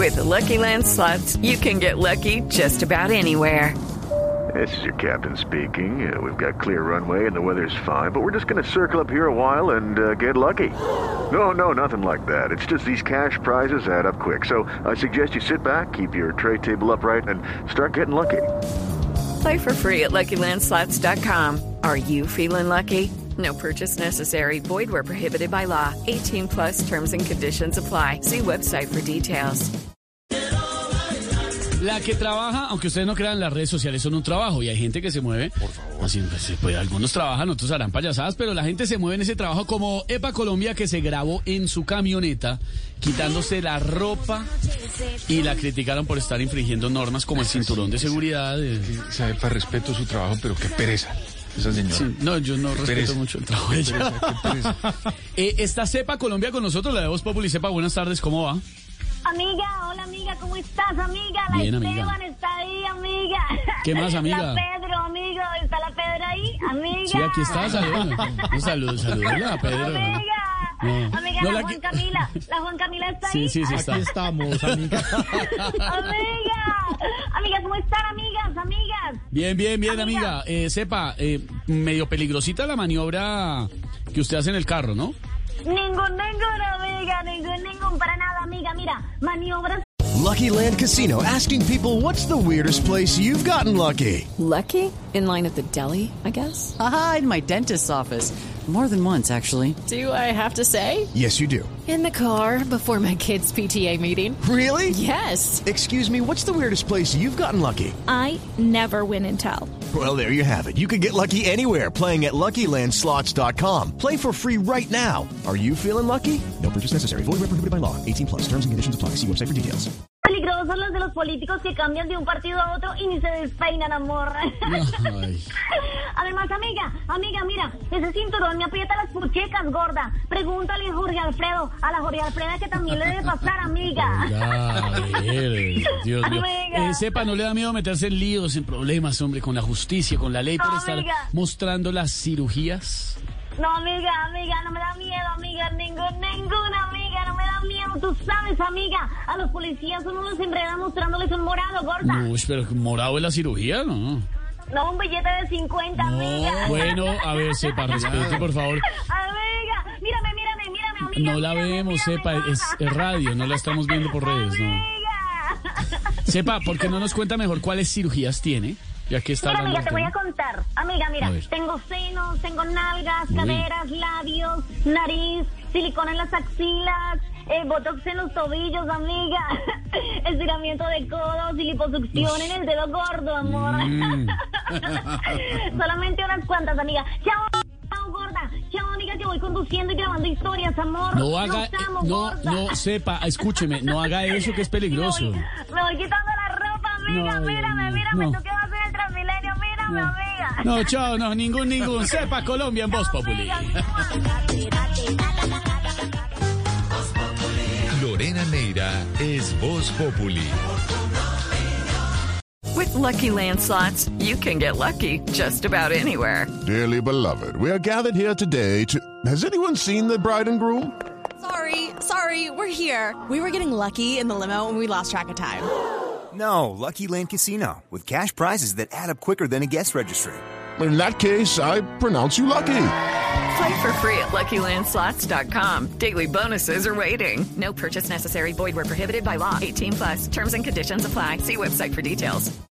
With the Lucky Land Slots, you can get lucky just about anywhere. This is your captain speaking. We've got clear runway and the weather's fine, but we're just going to circle up here a while and get lucky. No, nothing like that. It's just these cash prizes add up quick. So I suggest you sit back, keep your tray table upright, and start getting lucky. Play for free at LuckyLandSlots.com. Are you feeling lucky? No purchase necessary. Void where prohibited by law. 18 plus terms and conditions apply. See website for details. La que trabaja, aunque ustedes no crean, las redes sociales son un trabajo y hay gente que se mueve. Por favor. Así, pues, algunos trabajan, otros harán payasadas, pero la gente se mueve en ese trabajo, como Epa Colombia, que se grabó en su camioneta quitándose la ropa y la criticaron por estar infringiendo normas como el cinturón de seguridad. Epa, respeto su trabajo, pero qué pereza. Esa señora. Sí, no, yo no respeto mucho el trabajo de ella. Qué pereza. Está Cepa Colombia con nosotros, la de Voz Populi. Cepa, buenas tardes, ¿cómo va? Amiga, hola amiga, ¿cómo estás, amiga? La Bien, Esteban amiga. está ahí, amiga. ¿Qué más, amiga? La Pedro, amigo, ¿está la Pedro ahí, amiga? Sí, aquí está, saludos. Hola, Pedro. Amiga, No. amiga, No, la la Juan Camila está ahí. Sí, está. Aquí estamos, amiga. Amigas, ¿cómo están, amigas? Bien, amiga. Cepa, medio peligrosita la maniobra que usted hace en el carro, ¿no? Ningún, amiga, ningún, para nada, amiga, mira, maniobras. Lucky Land Casino, asking people, what's the weirdest place you've gotten lucky? Lucky? In line at the deli, I guess? Aha, in my dentist's office. More than once, actually. Do I have to say? Yes, you do. In the car before my kids' PTA meeting. Really? Yes. Excuse me, what's the weirdest place you've gotten lucky? I never win and tell. Well, there you have it. You can get lucky anywhere, playing at LuckyLandSlots.com. Play for free right now. Are you feeling lucky? No purchase necessary. Void where prohibited by law. 18 plus. Terms and conditions apply. See website for details. Peligrosos los de los políticos que cambian de un partido a otro y ni se despeinan, amor. Ay. Además, amiga, mira, ese cinturón me aprieta las puchecas, gorda. Pregúntale a Jorge Alfredo, a la Jorge Alfreda que también le debe pasar, amiga. Dios mío. Amiga. Sepa, ¿no le da miedo meterse en líos, en problemas, hombre, con la justicia, con la ley, por estar amiga. mostrando las cirugías? No, amiga, no me da miedo, amiga, ninguna, amiga, no me da miedo, tú sabes, amiga, a los policías uno los enreda mostrándoles un morado, gorda. Uy, pero morado es la cirugía, ¿no? No, un billete de 50, amiga. Bueno, a ver, Sepa, respete, por favor. Amiga, mírame, amiga. No la vemos, Sepa, es radio, no la estamos viendo por redes, ¿no? Amiga. Sepa, ¿por qué no nos cuenta mejor cuáles cirugías tiene? Ya que está Mira, hablando amiga, te del voy a tema. contar. Amiga, mira, tengo senos, tengo nalgas, caderas, labios, nariz, silicona en las axilas, botox en los tobillos, amiga, estiramiento de codos y liposucción en el dedo gordo, amor. Solamente unas cuantas, amiga. Chao, gorda. Chao, amiga, que voy conduciendo y grabando historias, amor. No haga, Nos amo, gorda. no, Sepa, escúcheme, no haga eso que es peligroso. Me voy quitando la ropa, amiga, No, mírame, no. tú que vas en el Transmilenio, mírame, amiga. No, chao, no, ningún. Sepa Colombia en Voz Populi. Lorena Neira es Voz Populi. With Lucky Land Slots, you can get lucky just about anywhere. Dearly beloved, we are gathered here today to... Has anyone seen the bride and groom? Sorry, we're here. We were getting lucky in the limo and we lost track of time. No, Lucky Land Casino, with cash prizes that add up quicker than a guest registry. In that case, I pronounce you lucky. Play for free at LuckyLandSlots.com. Daily bonuses are waiting. No purchase necessary. Void where prohibited by law. 18 plus. Terms and conditions apply. See website for details.